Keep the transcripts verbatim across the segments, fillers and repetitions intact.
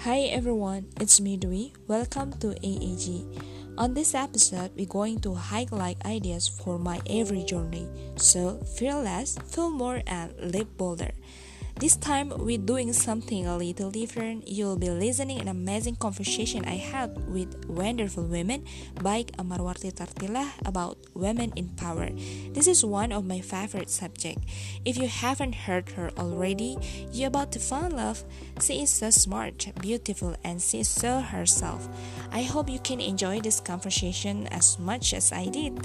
Hi everyone, it's me Dwi. Welcome to A A G. On this episode, we're going to highlight ideas for my every journey. So, feel less, feel more, and live bolder. This time, we're doing something a little different. You'll be listening an amazing conversation I had with wonderful women, Baik Amarwarti Tartilah, about women in power. This is one of my favorite subjects. If you haven't heard her already, you're about to fall in love. She is so smart, beautiful, and she is so herself. I hope you can enjoy this conversation as much as I did.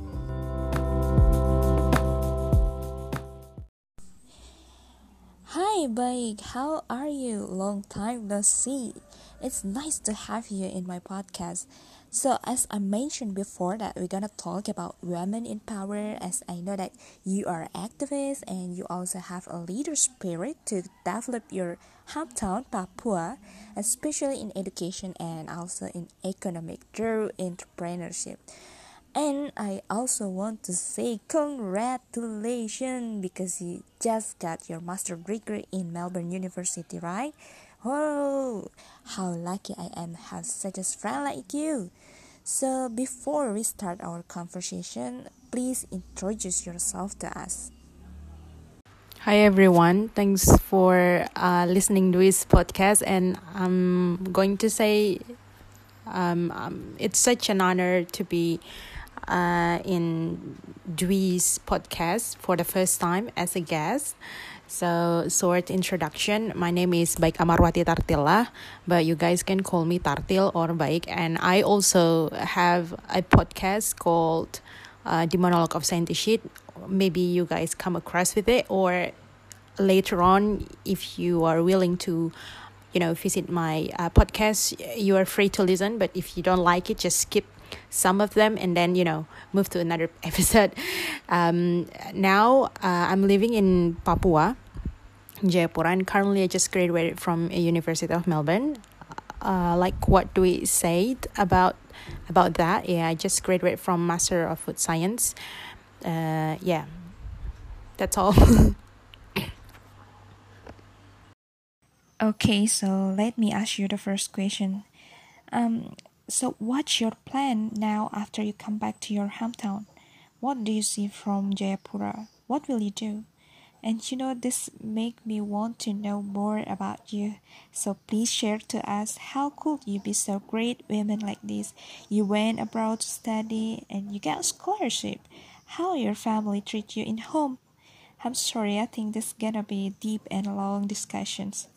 Hi, Baik. How are you? Long time no see. It's nice to have you in my podcast. So, as I mentioned before, that we're gonna talk about women in power. As I know that you are activist and you also have a leader spirit to develop your hometown, Papua, especially in education and also in economic through entrepreneurship. And I also want to say congratulations because you just got your master degree in Melbourne University, right? Oh, how lucky I am to have such a friend like you. So before we start our conversation, please introduce yourself to us. Hi everyone, thanks for uh, listening to this podcast, and I'm going to say um, um, it's such an honor to be uh, in Dwi's podcast for the first time as a guest. So, short introduction. My name is Baik Amarwati Tartilah, but you guys can call me Tartil or Baik. And I also have a podcast called uh, The Monologue of Scientist. Maybe you guys come across with it, or later on, if you are willing to, you know, visit my uh, podcast, you are free to listen. But if you don't like it, just skip some of them and then, you know, move to another episode. Um, now, uh, I'm living in Papua, Jayapura, and currently I just graduated from a University of Melbourne. Uh, like what do we say about about that? Yeah, I just graduated from Master of Food Science. Uh, yeah, that's all. Okay, so let me ask you the first question. Um, so what's your plan now after you come back to your hometown? What do you see from Jayapura? What will you do? And you know, this make me want to know more about you. So please share to us how could you be so great women like this? You went abroad to study and you got a scholarship. How your family treat you in home? I'm sorry, I think this gonna be deep and long discussions.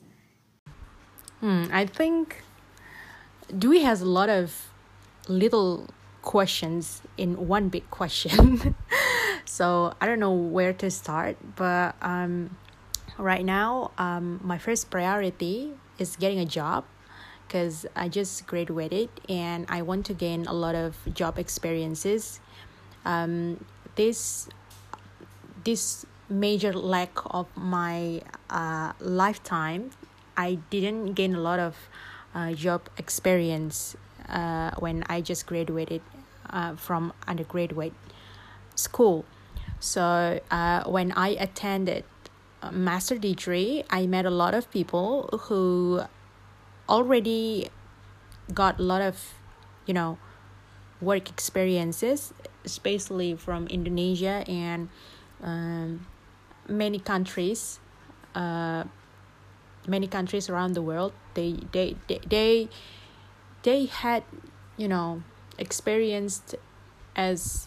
Hmm, I think Dewey has a lot of little questions in one big question. So I don't know where to start, but um, right now, um, my first priority is getting a job because I just graduated and I want to gain a lot of job experiences. Um, this this major lack of my uh, lifetime, I didn't gain a lot of uh, job experience uh, when I just graduated uh, from undergraduate school. So uh, when I attended a master degree, I met a lot of people who already got a lot of, you know, work experiences, especially from Indonesia and um, many countries, uh, many countries around the world. They they they they, they had, you know, experienced as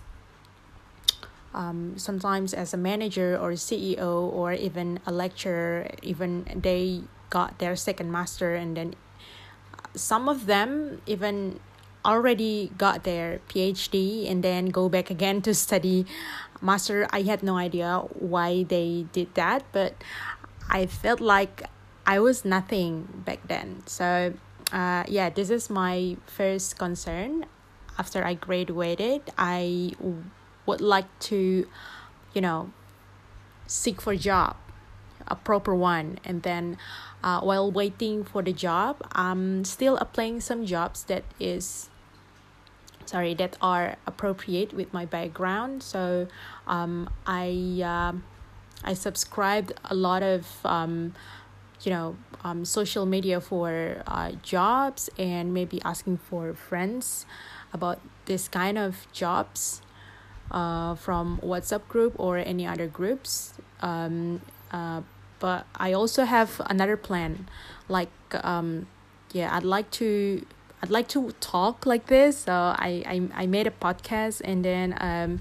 um, sometimes as a manager or a C E O or even a lecturer. Even they got their second master, and then some of them even already got their PhD and then go back again to study master. I had no idea why they did that, but I felt like I was nothing back then. So uh, yeah, this is my first concern. After I graduated, I would like to, you know, seek for a job, a proper one. And then uh, while waiting for the job, I'm still applying some jobs that is sorry that are appropriate with my background. So um, I um I subscribed a lot of um, you know, um, social media for uh, jobs, and maybe asking for friends about this kind of jobs uh, from WhatsApp group or any other groups. Um, uh, but I also have another plan, like um, yeah, I'd like to I'd like to talk like this. So I I, I made a podcast, and then um,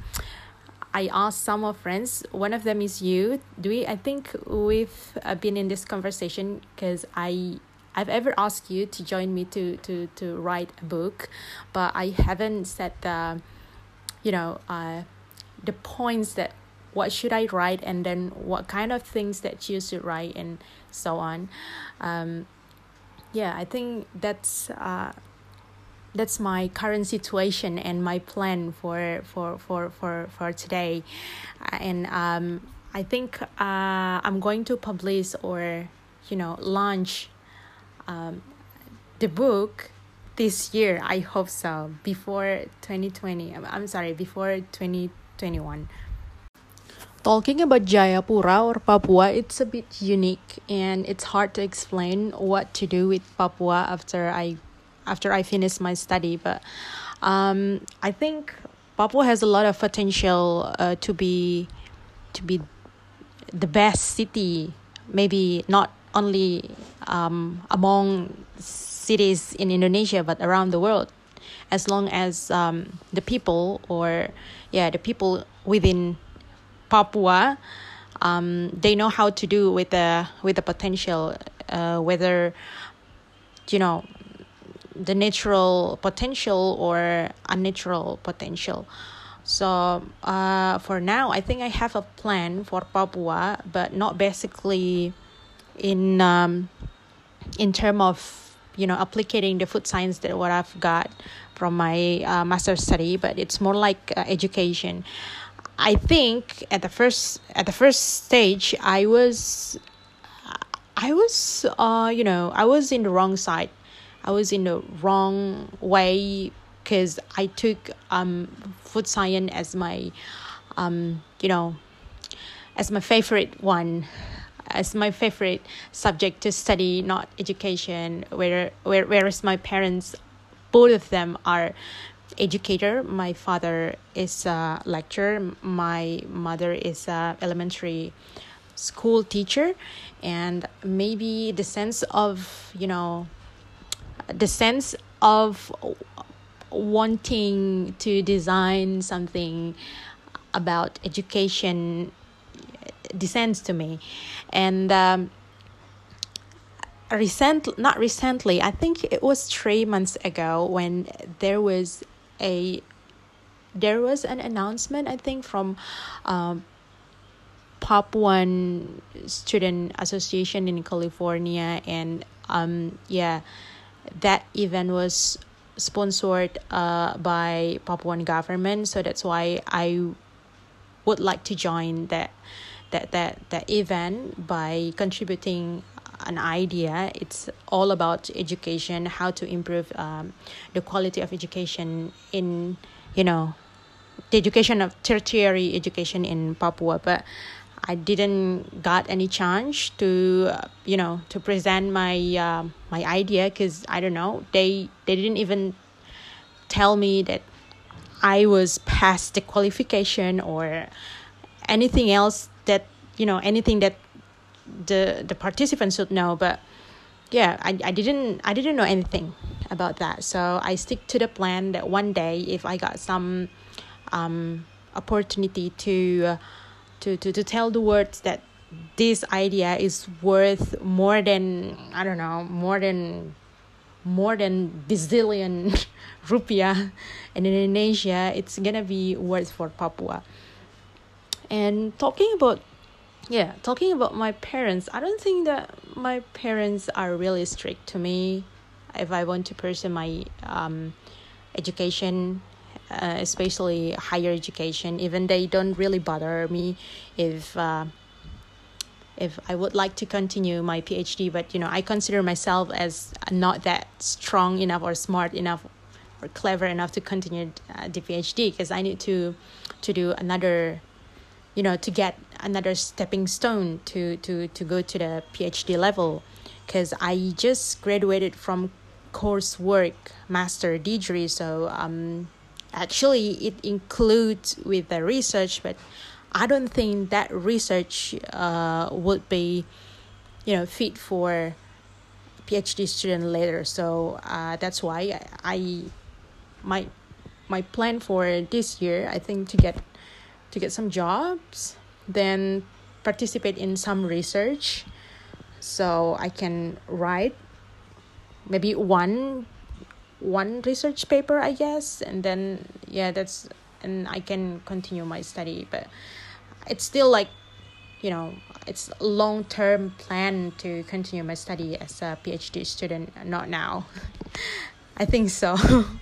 I asked some of friends. One of them is you. Do we? I think we've uh, been in this conversation because I I've ever asked you to join me to to to write a book, but I haven't set the, you know, uh, the points that what should I write, and then what kind of things that you should write, and so on. Um, yeah, I think that's uh, that's my current situation and my plan for for for for, for today. Uh, and um, I think uh, I'm going to publish, or you know, launch um, the book this year. I hope so, before twenty twenty. I'm, I'm sorry, before twenty twenty-one. Talking about Jayapura or Papua, it's a bit unique, and it's hard to explain what to do with Papua after I after I finish my study. But um, I think Papua has a lot of potential uh, to be to be the best city, maybe not only um, among cities in Indonesia, but around the world, as long as um, the people or yeah the people within Papua, um, they know how to do with the with the potential, uh, whether you know the natural potential or unnatural potential. So uh, for now, I think I have a plan for Papua, but not basically in um, in term of you know applicating the food science that what I've got from my uh, master's study, but it's more like uh, education. I think at the first at the first stage, I was, I was, uh, you know, I was in the wrong side. I was in the wrong way because I took um food science as my, um, you know, as my favorite one, as my favorite subject to study, not education. Where where whereas my parents, both of them are educator. My father is a lecturer, my mother is a elementary school teacher, and maybe the sense of you know the sense of wanting to design something about education descends to me. And um recent not recently, I think it was three months ago, when there was a there was an announcement, I think, from um, Papuan Student Association in California, and um yeah that event was sponsored uh by Papuan government. So that's why I would like to join that that that that event by contributing an idea. It's all about education, how to improve um, the quality of education in, you know, the education of tertiary education in Papua. But I didn't got any chance to, uh, you know, to present my uh, my idea, because I don't know, they they didn't even tell me that I was past the qualification or anything else that, you know, anything that the the participants should know. But yeah, I, I didn't I didn't know anything about that. So I stick to the plan that one day, if I got some um opportunity to uh, to, to to tell the world that this idea is worth more than, I don't know, more than more than bazillion rupiah in Indonesia, it's gonna be worth for Papua. And talking about Yeah, talking about my parents, I don't think that my parents are really strict to me if I want to pursue my um, education, uh, especially higher education. Even they don't really bother me if uh, if I would like to continue my PhD. But you know, I consider myself as not that strong enough or smart enough or clever enough to continue uh, the PhD, because I need to to do another, you know, to get another stepping stone to to to go to the PhD level, because I just graduated from coursework master degree. So um actually it includes with the research, but I don't think that research uh would be, you know, fit for PhD student later. So uh that's why I, I my my plan for this year, I think, to get to get some jobs, then participate in some research, so I can write maybe one one research paper, I guess, and then yeah, that's and I can continue my study. But it's still like, you know, it's a long term plan to continue my study as a PhD student, not now. I think so.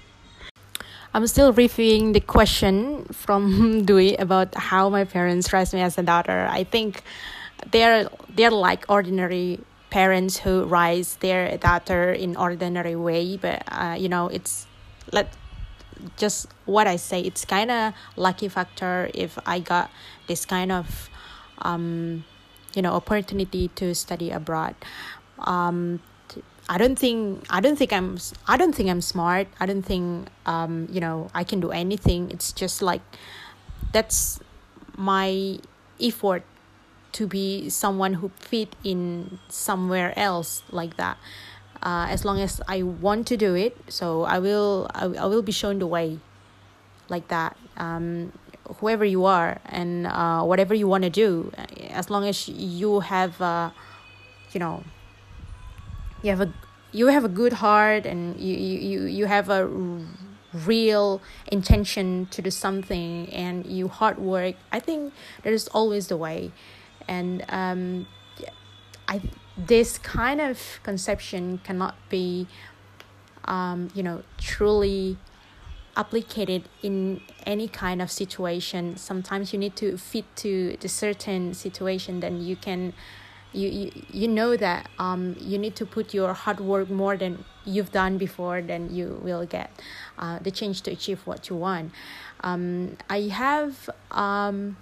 I'm still reviewing the question from Dewey about how my parents raised me as a daughter. I think they're they're like ordinary parents who raise their daughter in ordinary way, but uh, you know, it's let just what I say. It's kind of lucky factor if I got this kind of um, you know, opportunity to study abroad. Um, I don't think I don't think I'm I don't think I'm smart. I don't think um you know, I can do anything. It's just like that's my effort to be someone who fit in somewhere else like that. Uh, as long as I want to do it, so I will I, I will be shown the way like that. Um, whoever you are and uh, whatever you want to do, as long as you have uh, you know, you have a you have a good heart, and you you, you have a real intention to do something, and you hard work, I think there is always the way. And um I this kind of conception cannot be um you know, truly applicated in any kind of situation. Sometimes you need to fit to the certain situation, then you can you you, you know that um you need to put your hard work more than you've done before, then you will get uh, the change to achieve what you want. um I have um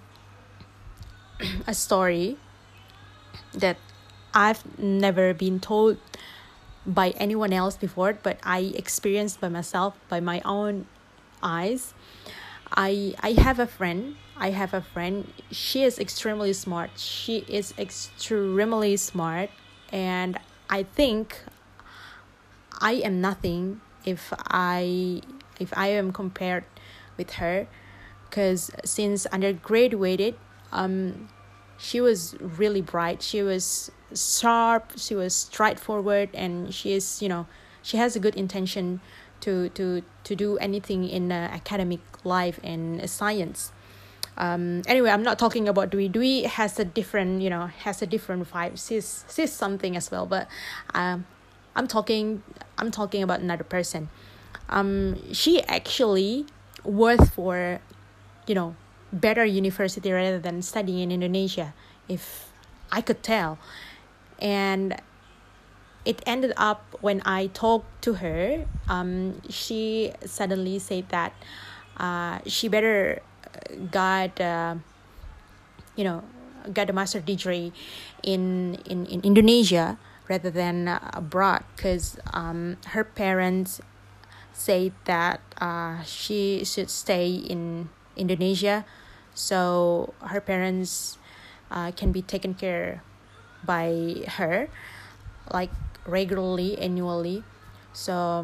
a story that I've never been told by anyone else before, but I experienced by myself, by my own eyes. I I have a friend. I have a friend. She is extremely smart. She is extremely smart, and I think I am nothing if I if I am compared with her, because since undergraduated, um, she was really bright. She was sharp. She was straightforward, and she is, you know, she has a good intention to to to do anything in uh, academic life and science. Um, anyway, I'm not talking about Dewey. Dewey has a different, you know, has a different vibe. She's she's something as well, but um, I'm talking I'm talking about another person. Um, she actually worth for, you know, better university rather than studying in Indonesia, if I could tell. And it ended up when I talked to her, um, she suddenly said that uh, she better got uh, you know, got a master degree in in, in Indonesia rather than uh, abroad, because um, her parents said that uh, she should stay in Indonesia, so her parents uh, can be taken care by her like regularly, annually. So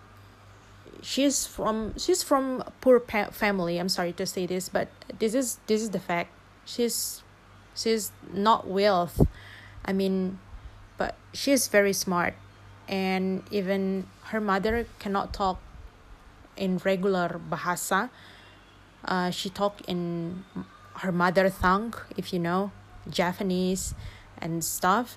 she's from she's from poor pa- family. I'm sorry to say this, but this is this is the fact. She's she's not wealth. I mean, but she's very smart, and even her mother cannot talk in regular bahasa. Uh, she talk in her mother tongue, if you know, Japanese and stuff.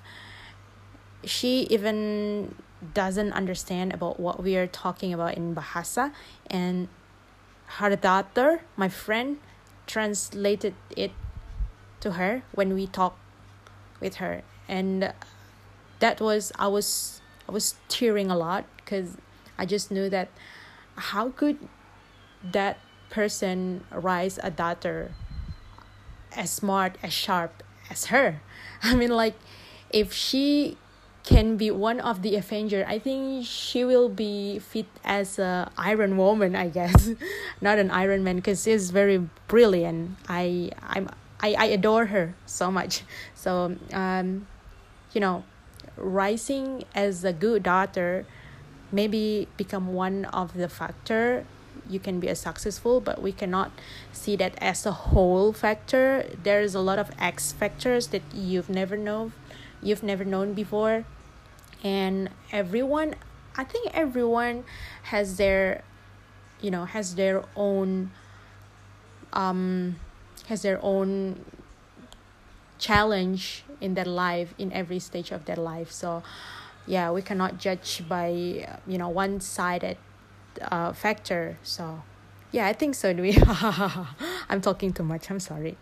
She even doesn't understand about what we are talking about in bahasa, and her daughter, my friend, translated it to her when we talk with her. And that was I was I was tearing a lot, because I just knew that how could that person raise a daughter as smart, as sharp as her. I mean, like, if she can be one of the Avenger, I think she will be fit as a Iron Woman, I guess. Not an Iron Man, because she's very brilliant. I I'm I, I adore her so much. So um you know, rising as a good daughter maybe become one of the factor you can be a successful, but we cannot see that as a whole factor. There's a lot of X factors that you've never known you've never known before. And everyone, I think everyone has their, you know, has their own um has their own challenge in their life, in every stage of their life. So yeah, we cannot judge by, you know, one-sided uh, factor. So yeah, I think so. Do we? I'm talking too much, I'm sorry.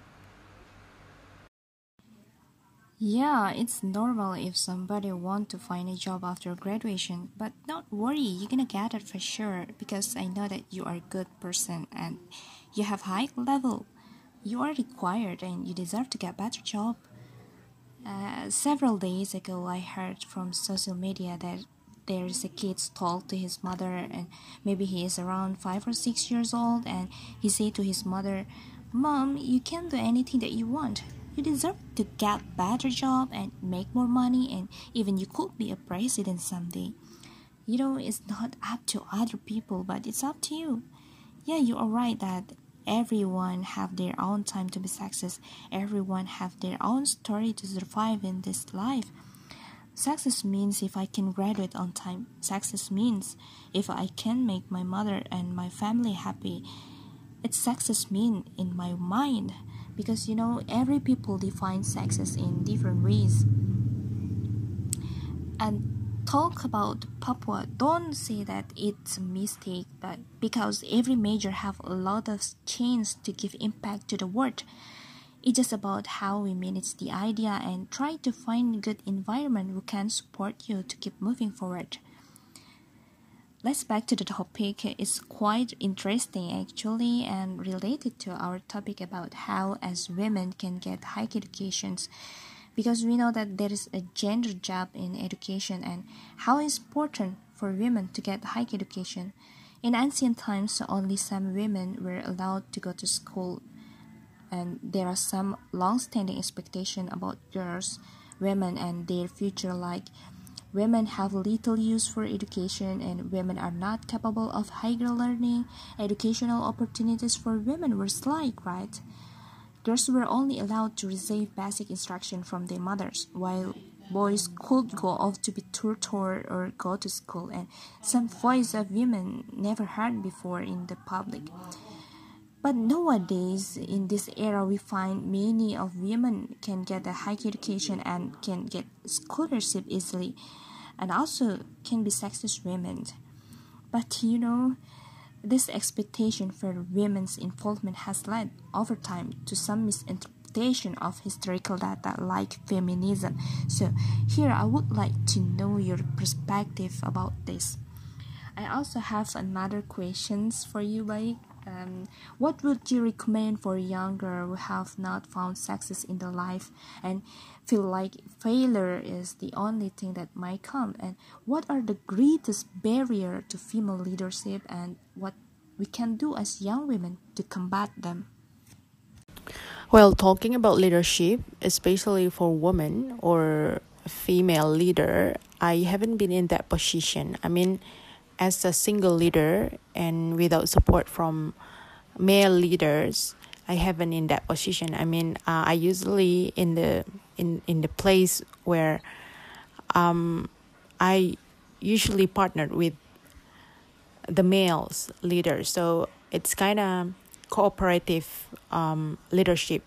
Yeah, it's normal if somebody want to find a job after graduation, but don't worry, you're gonna get it for sure because I know that you are a good person and you have high level. You are required and you deserve to get better job. Uh, several days ago, I heard from social media that there is a kid talk to his mother, and maybe he is around five or six years old, and he said to his mother, "Mom, you can do anything that you want. You deserve to get better job and make more money, and even you could be a president someday. You know, it's not up to other people, but it's up to you." Yeah, you are right that everyone have their own time to be success. Everyone have their own story to survive in this life. Success means if I can graduate on time. Success means if I can make my mother and my family happy. It's success mean in my mind, because you know every people define success in different ways. And talk about Papua, don't say that it's a mistake, but because every major have a lot of chance to give impact to the world. It's just about how we manage the idea and try to find good environment who can support you to keep moving forward. Let's back to the topic. It's quite interesting actually and related to our topic about how as women can get high educations, because we know that there is a gender gap in education and how it's important for women to get high education. In ancient times, only some women were allowed to go to school, and there are some long-standing expectations about girls, women, and their future, like women have little use for education and women are not capable of higher learning. Educational opportunities for women were slight, right? Girls were only allowed to receive basic instruction from their mothers, while boys could go off to be tutored or go to school, and some voice of women never heard before in the public. But nowadays, in this era, we find many of women can get a high education and can get scholarship easily, and also can be success women. But you know, this expectation for women's involvement has led, over time, to some misinterpretation of historical data like feminism. So here I would like to know your perspective about this. I also have another questions for you, like, um, what would you recommend for young girls who have not found success in their life and feel like failure is the only thing that might come? And what are the greatest barrier to female leadership, and what we can do as young women to combat them? Well, talking about leadership, especially for women or female leader, I haven't been in that position. I mean, as a single leader and without support from male leaders, I haven't in that position. I mean, uh, I usually in the in in the place where um I usually partnered with the males leaders, so it's kind of cooperative um leadership.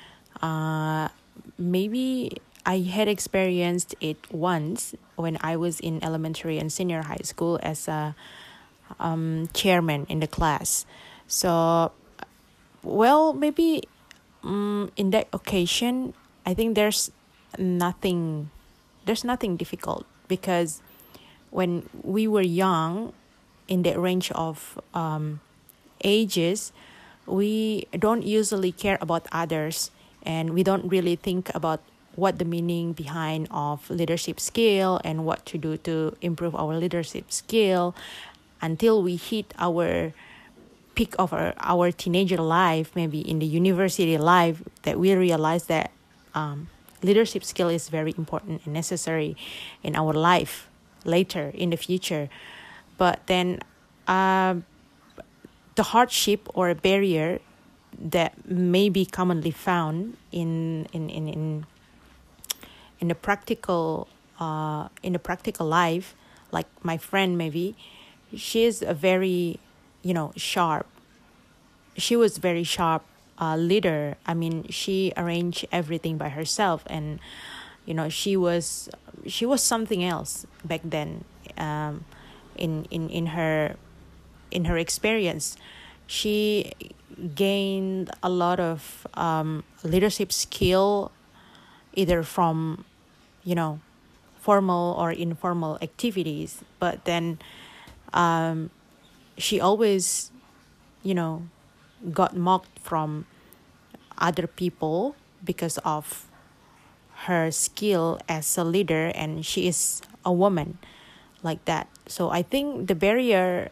Uh, maybe I had experienced it once when I was in elementary and senior high school as a um, chairman in the class. So, well, maybe um, in that occasion, I think there's nothing, there's nothing difficult, because when we were young, in the range of um, ages, we don't usually care about others and we don't really think about what the meaning behind of leadership skill and what to do to improve our leadership skill until we hit our peak of our, our teenager life, maybe in the university life, that we realize that um, leadership skill is very important and necessary in our life later in the future. But then uh, the hardship or barrier that may be commonly found in in in in, in the practical uh, in the practical life, like my friend, maybe she is a very, you know, sharp. She was very sharp uh, leader. I mean, she arranged everything by herself, and you know, she was she was something else back then. Um, in in in her in her experience, she gained a lot of um, leadership skill, either from, you know, formal or informal activities. But then um, she always, you know, got mocked from other people because of her skill as a leader, and she is a woman like that. So I think the barrier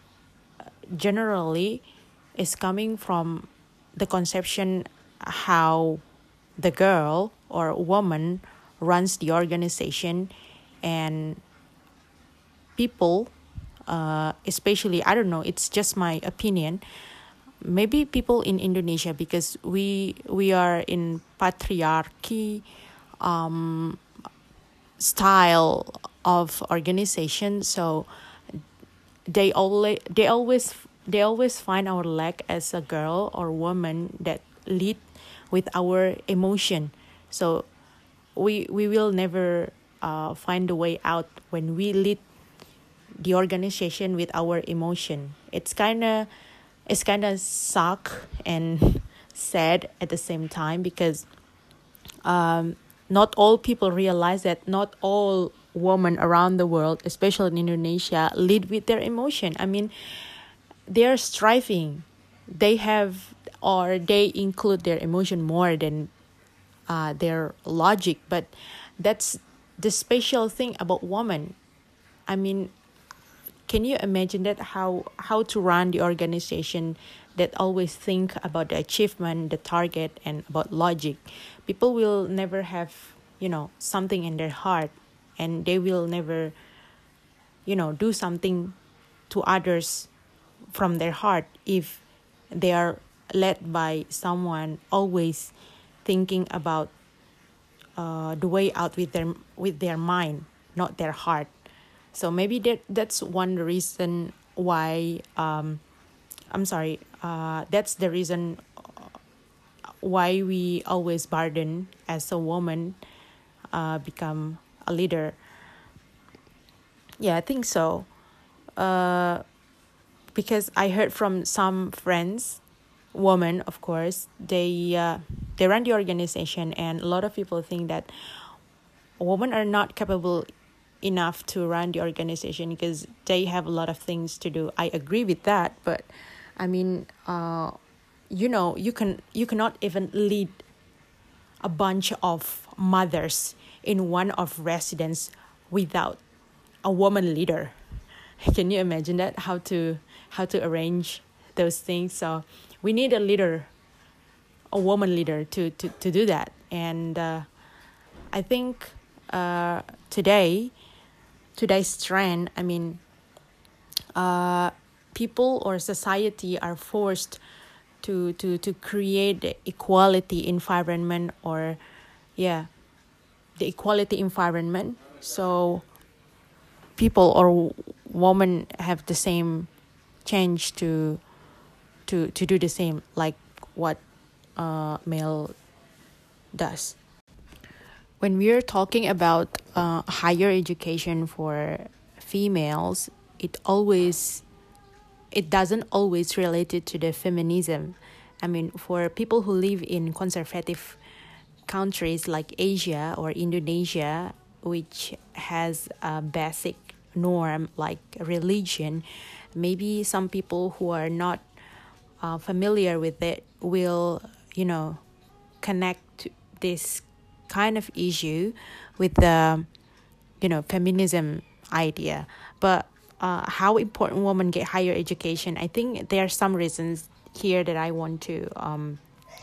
generally is coming from the conception how the girl or woman runs the organization, and people, uh, especially, I don't know, it's just my opinion, maybe people in Indonesia, because we we are in patriarchy um, style of organization, so they always they always they always find our lack as a girl or woman that lead with our emotion. So we we will never uh, find a way out when we lead the organization with our emotion. It's kind of it's kind of suck and sad at the same time, because um, not all people realize that not all women around the world, especially in Indonesia, lead with their emotion. I mean, they're striving. They have, or they include their emotion more than uh, their logic. But that's the special thing about women. I mean, can you imagine that how how to run the organization that always think about the achievement, the target, and about logic? People will never have, you know, something in their heart, and they will never, you know, do something to others from their heart if they are led by someone always thinking about uh, the way out with their with their mind, not their heart. So maybe that that's one reason why um, I'm sorry. Uh, that's the reason why we always burden as a woman uh, become a leader. Yeah, I think so. Uh, because I heard from some friends, women, of course, they uh, they run the organization, and a lot of people think that women are not capable enough to run the organization because they have a lot of things to do. I agree with that, but I mean, uh, you know, you can you cannot even lead a bunch of mothers in one of residence without a woman leader. Can you imagine that? How to how to arrange those things? So we need a leader, a woman leader to to, to do that. And uh, I think uh, today, today's trend, I mean, uh, people or society are forced to to to create the equality environment, or yeah, the equality environment. So people or women have the same change to to to do the same like what uh, male does. When we are talking about uh, higher education for females, it always it doesn't always related to the feminism. I mean, for people who live in conservative countries like Asia or Indonesia, which has a basic norm like religion, maybe some people who are not uh, familiar with it will, you know, connect this kind of issue with the, you know, feminism idea. But uh, how important women get higher education, I think there are some reasons here that I want to um,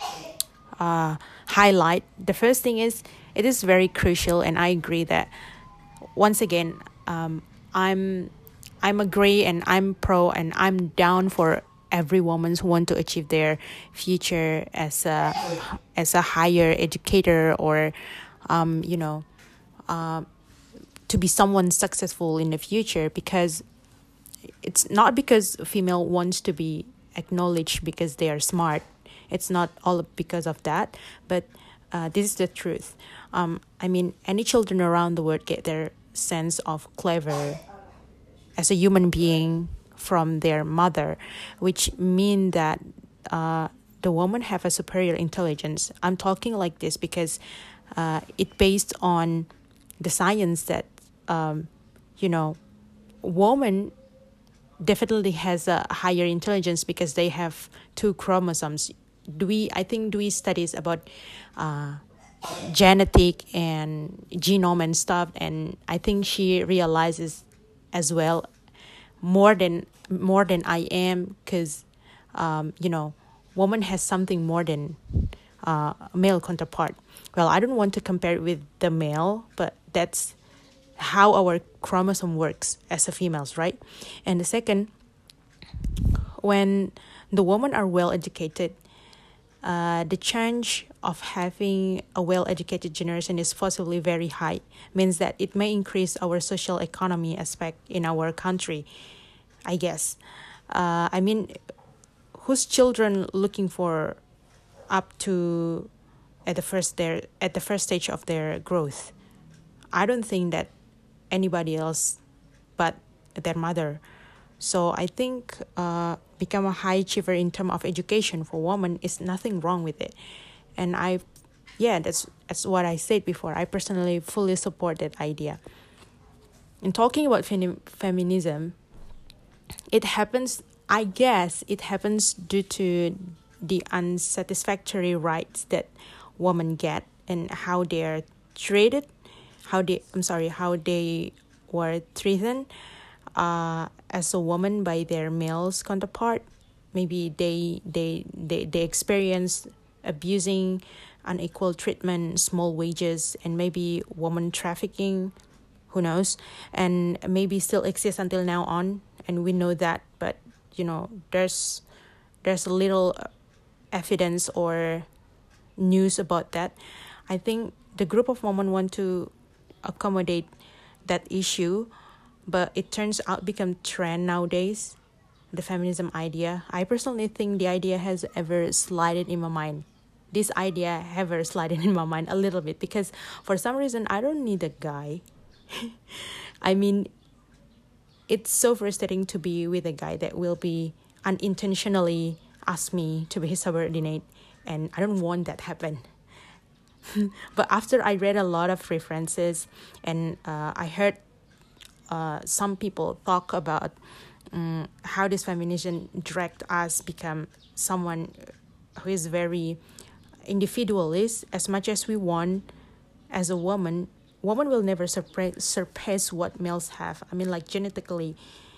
uh, highlight. The first thing is it is very crucial, and I agree that once again, um, I'm I'm agree and I'm pro and I'm down for every woman who want to achieve their future as a as a higher educator, or um, you know, uh, to be someone successful in the future. Because it's not because female wants to be acknowledged because they are smart. It's not all because of that, but uh, this is the truth. Um, I mean, any children around the world get their sense of clever as a human being from their mother, which mean that uh, the woman have a superior intelligence. I'm talking like this because uh, it based on the science that um, you know, woman definitely has a higher intelligence because they have two chromosomes. Do we? I think do we studies about uh, genetic and genome and stuff, and I think she realizes as well more than more than I am, because um, you know, woman has something more than uh, a male counterpart. Well, I don't want to compare it with the male, but that's how our chromosome works as a females, right? And the second, when the women are well educated, uh, the chance of having a well-educated generation is possibly very high. Means that it may increase our social economy aspect in our country, I guess. Uh, I mean, whose children looking for up to at the first their at the first stage of their growth? I don't think that anybody else but their mother. So I think uh, become a high achiever in terms of education for women is nothing wrong with it. And I, yeah, that's that's what I said before. I personally fully support that idea. In talking about fem- feminism, it happens, I guess, it happens due to the unsatisfactory rights that women get and how they are treated, how they, I'm sorry, how they were treated uh, as a woman by their male's counterpart. Maybe they they they, they experience abusing, unequal treatment, small wages, and maybe woman trafficking, who knows, and maybe still exists until now on, and we know that, but you know, there's there's a little evidence or news about that. I think the group of women want to accommodate that issue, but it turns out become trend nowadays, the feminism idea. I personally think the idea has ever slided in my mind. This idea ever slided in my mind a little bit, because for some reason I don't need a guy. I mean, it's so frustrating to be with a guy that will be unintentionally ask me to be his subordinate, and I don't want that happen. But after I read a lot of references, and uh, I heard uh, some people talk about um, how this feminism direct us become someone who is very individualist. As much as we want as a woman, woman will never surpass, surpass what males have. I mean, like genetically.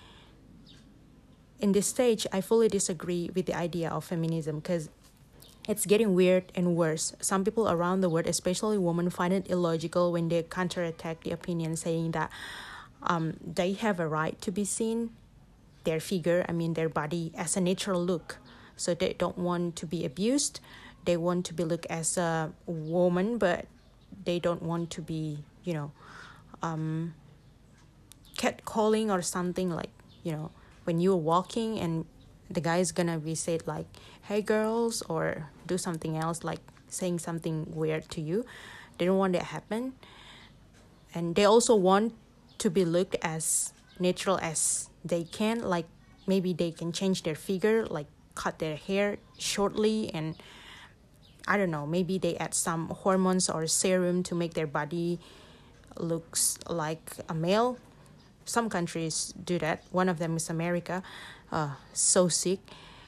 In this stage, I fully disagree with the idea of feminism, because it's getting weird and worse. Some people around the world, especially women, find it illogical when they counterattack the opinion, saying that um, they have a right to be seen, their figure, I mean their body, as a natural look. So they don't want to be abused. They want to be looked as a woman, but they don't want to be, you know, um, catcalling or something, like, you know, when you're walking and the guy is gonna be said like, hey girls, or do something else, like saying something weird to you. They don't want that to happen. And they also want to be looked as natural as they can, like maybe they can change their figure, like cut their hair shortly, and I don't know, maybe they add some hormones or serum to make their body looks like a male. Some countries do that. One of them is America. Uh, so sick.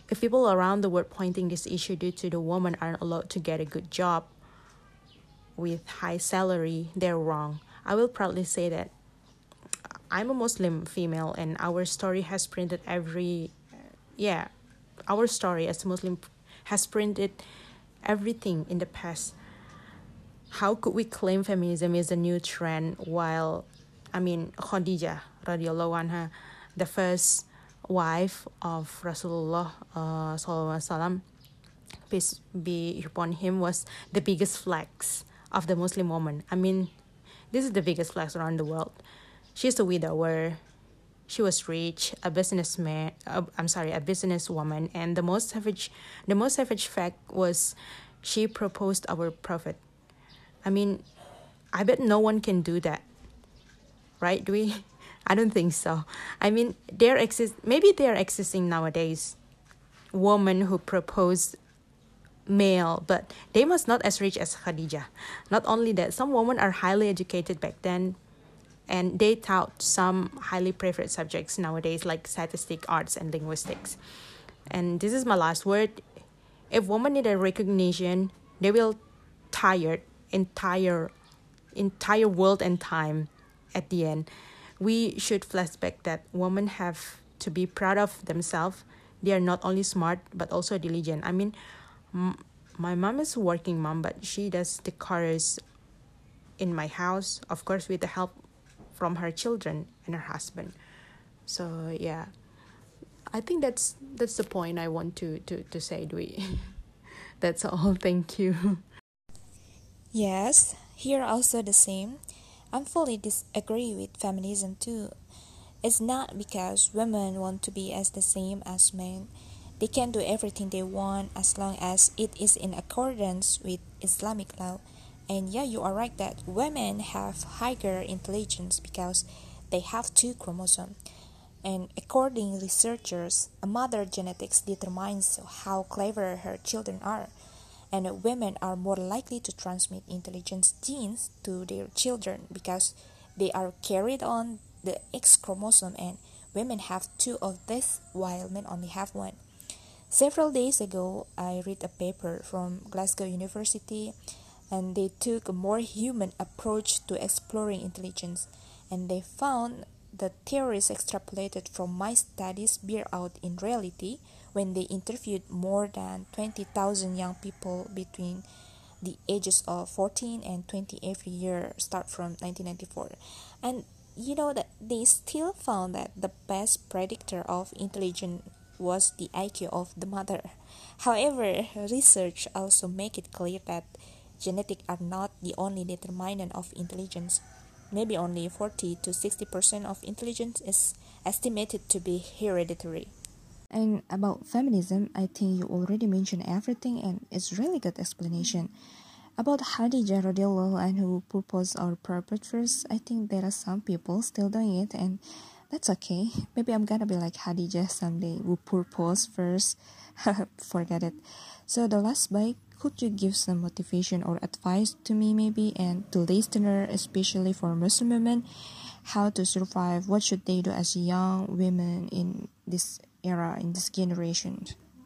if people around the world pointing this issue due to the women aren't allowed to get a good job with high salary, they're wrong. I will proudly say that I'm a Muslim female, and our story has printed every, yeah, our story as a Muslim has printed everything in the past. How could we claim feminism is a new trend while, I mean, Khadijah radiallahu anha, the first wife of Rasulullah uh, sallallahu alaihi wasallam, peace be upon him, was the biggest flex of the Muslim woman. I mean, this is the biggest flex around the world. She's a widower. She was rich, a businessman. Uh, I'm sorry, a businesswoman, and the most savage, the most savage fact was, she proposed our prophet. I mean, I bet no one can do that, right? Do we? I don't think so. I mean, there exist. Maybe they are existing nowadays. Women who propose male, but they must not as rich as Khadijah. Not only that, some women are highly educated back then, and they taught some highly preferred subjects nowadays, like statistics, arts, and linguistics. And this is my last word. If women need a recognition, they will tire entire entire world and time at the end. We should flashback that women have to be proud of themselves. They are not only smart but also diligent. I mean, m- my mom is a working mom, but she does the chores in my house, of course, with the help from her children and her husband. So yeah, I think that's that's the point I want to to to say, Dwi. That's all. Thank you. Yes, here also the same. I'm fully disagree with feminism too. It's not because women want to be as the same as men. They can do everything they want as long as it is in accordance with Islamic law. And yeah, you are right that women have higher intelligence because they have two chromosomes. And according to researchers, a mother genetics determines how clever her children are. And women are more likely to transmit intelligence genes to their children because they are carried on the X chromosome, and women have two of this while men only have one. Several days ago, I read a paper from Glasgow University, and they took a more human approach to exploring intelligence, and they found the theories extrapolated from my studies bear out in reality when they interviewed more than twenty thousand young people between the ages of fourteen and twenty every year, start from nineteen ninety-four. And you know that they still found that the best predictor of intelligence was the I Q of the mother. However, research also make it clear that genetics are not the only determinant of intelligence. Maybe only forty to sixty percent of intelligence is estimated to be hereditary. And about feminism, I think you already mentioned everything, and it's really good explanation. About Khadijah radiallahu anhu who proposed our prophet first, I think there are some people still doing it, and that's okay. Maybe I'm gonna be like Khadijah someday who proposed first. Forget it. So the last bite, could you give some motivation or advice to me maybe and to listener, especially for Muslim women, how to survive? What should they do as young women in this era, in this generation?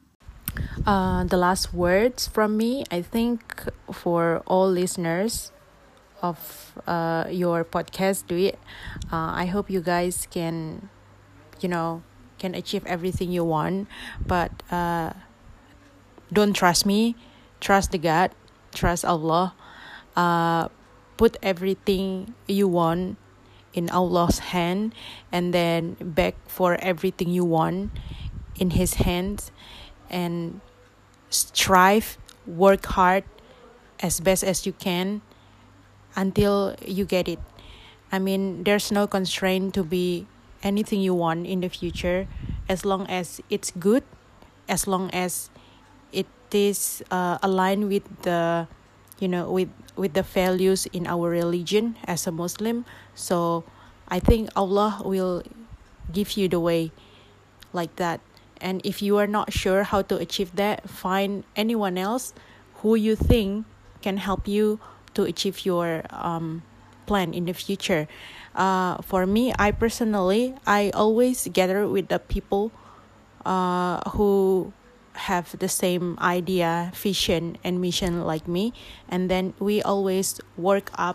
Uh, the last words from me, I think, for all listeners of uh, your podcast, do it. Uh, I hope you guys can, you know, can achieve everything you want, but uh, don't trust me. Trust the God. Trust Allah. Uh, put everything you want in Allah's hand, and then beg for everything you want in His hands, and strive, work hard as best as you can until you get it. I mean, there's no constraint to be anything you want in the future, as long as it's good, as long as it is uh, aligned with the, you know, with with the values in our religion as a Muslim. So I think Allah will give you the way like that. And if you are not sure how to achieve that, find anyone else who you think can help you to achieve your um, plan in the future. Uh, for me, I personally, I always gather with the people uh, who have the same idea, vision, and mission like me, and then we always work up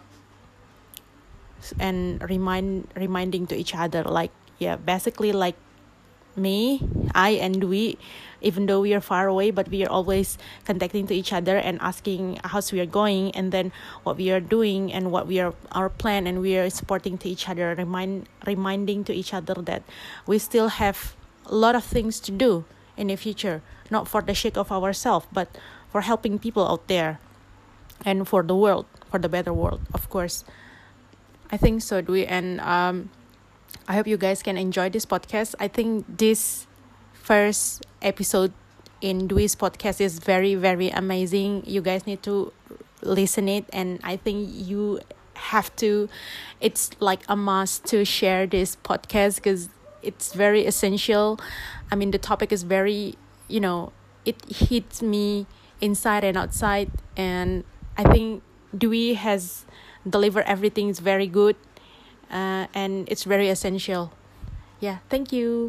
and remind reminding to each other, like, yeah, basically like me, I and we, even though we are far away, but we are always contacting to each other and asking how's we are going, and then what we are doing and what we are our plan, and we are supporting to each other, remind reminding to each other that we still have a lot of things to do in the future, not for the sake of ourselves, but for helping people out there and for the world, for the better world, of course. I think so, Dwi, and um I hope you guys can enjoy this podcast. I think this first episode in Dwi's podcast is very, very amazing. You guys need to listen it, and I think you have to, it's like a must to share this podcast because it's very essential. I mean, the topic is very, you know, it hits me inside and outside, and I think Dwi has delivered everything is very good. Uh, and it's very essential. Yeah, thank you.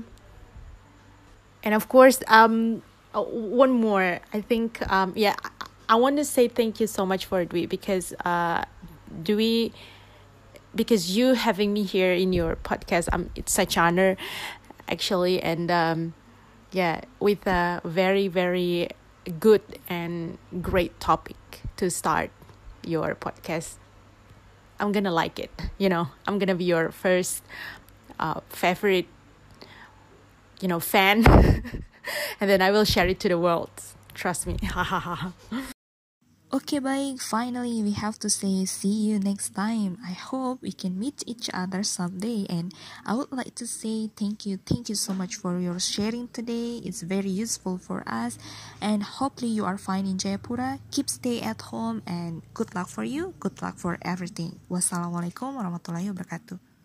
And of course, um, uh, one more. I think, um, yeah, I, I want to say thank you so much for Dwi because, uh, Dwi, because you having me here in your podcast, um, it's such honor, actually, and um, yeah, with a very, very good and great topic to start your podcast. I'm gonna like it, you know. I'm gonna be your first uh, favorite, you know, fan, and then I will share it to the world. Trust me. Okay, baik. Finally, we have to say see you next time. I hope we can meet each other someday. And I would like to say thank you. Thank you so much for your sharing today. It's very useful for us. And hopefully you are fine in Jayapura. Keep stay at home and good luck for you. Good luck for everything. Wassalamualaikum warahmatullahi wabarakatuh.